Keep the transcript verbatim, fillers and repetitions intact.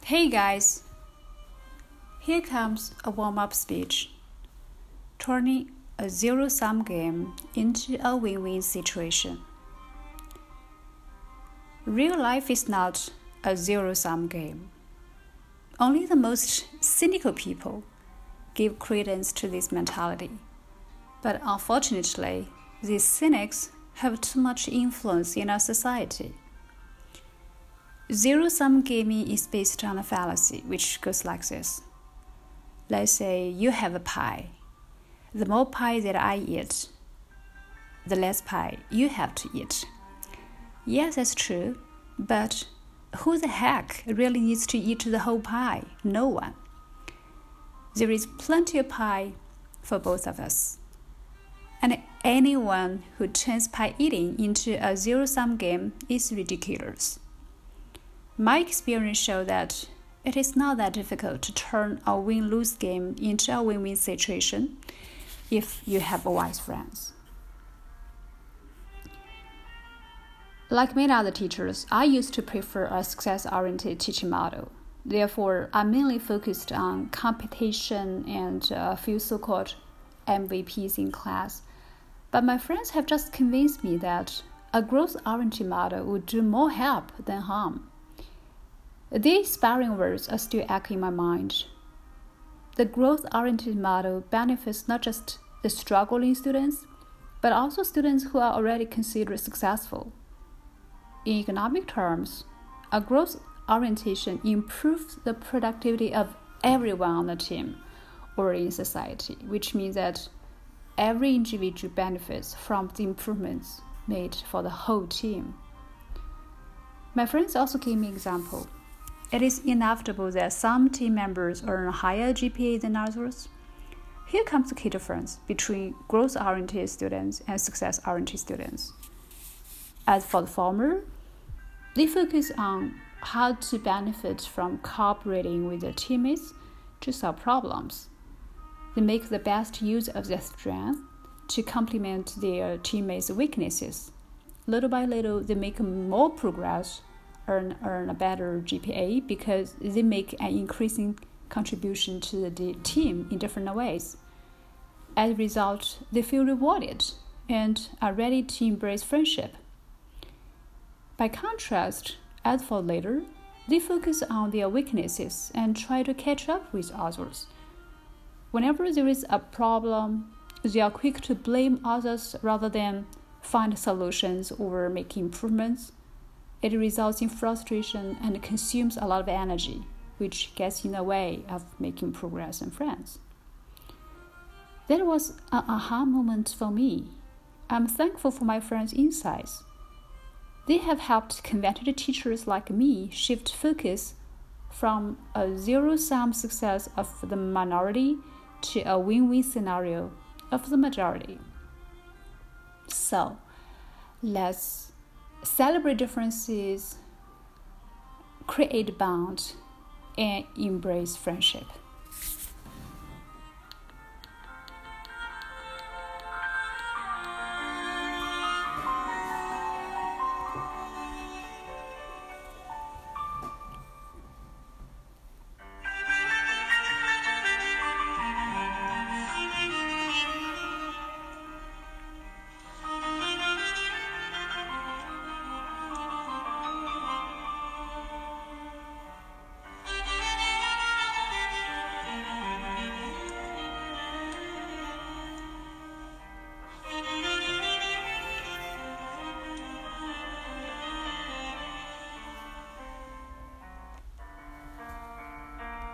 Hey guys, here comes a warm-up speech, turning a zero-sum game into a win-win situation. Real life is not a zero-sum game. Only the most cynical people give credence to this mentality. But unfortunately, these cynics have too much influence in our society. Zero-sum gaming is based on a fallacy which goes like this. Let's say you have a pie. The more pie that I eat, the less pie you have to eat. Yes, that's true, but who the heck really needs to eat the whole pie? No one. There is plenty of pie for both of us. And anyone who turns pie eating into a zero-sum game is ridiculous. My experience shows that it is not that difficult to turn a win-lose game into a win-win situation if you have wise friends. Like many other teachers, I used to prefer a success-oriented teaching model. Therefore, I mainly focused on competition and a few so-called M V Ps in class. But my friends have just convinced me that a growth-oriented model would do more help than harm. These sparring words are still echoing in my mind. The growth-oriented model benefits not just the struggling students, but also students who are already considered successful. In economic terms, a growth orientation improves the productivity of everyone on the team or in society, which means that every individual benefits from the improvements made for the whole team. My friends also gave me an example. It is inevitable that some team members earn a higher G P A than others. Here comes the key difference between growth-oriented students and success-oriented students. As for the former, they focus on how to benefit from cooperating with their teammates to solve problems. They make the best use of their strength to complement their teammates' weaknesses. Little by little, they make more progress Earn, earn a better G P A because they make an increasing contribution to the team in different ways. As a result, they feel rewarded and are ready to embrace friendship. By contrast, as for later, they focus on their weaknesses and try to catch up with others. Whenever there is a problem, they are quick to blame others rather than find solutions or make improvements. It results in frustration and consumes a lot of energy, which gets in the way of making progress and friends. That was an aha moment for me. I'm thankful for my friends' insights. They have helped conventional teachers like me shift focus from a zero-sum success of the minority to a win-win scenario of the majority. So, let's celebrate differences, create bond, and embrace friendship.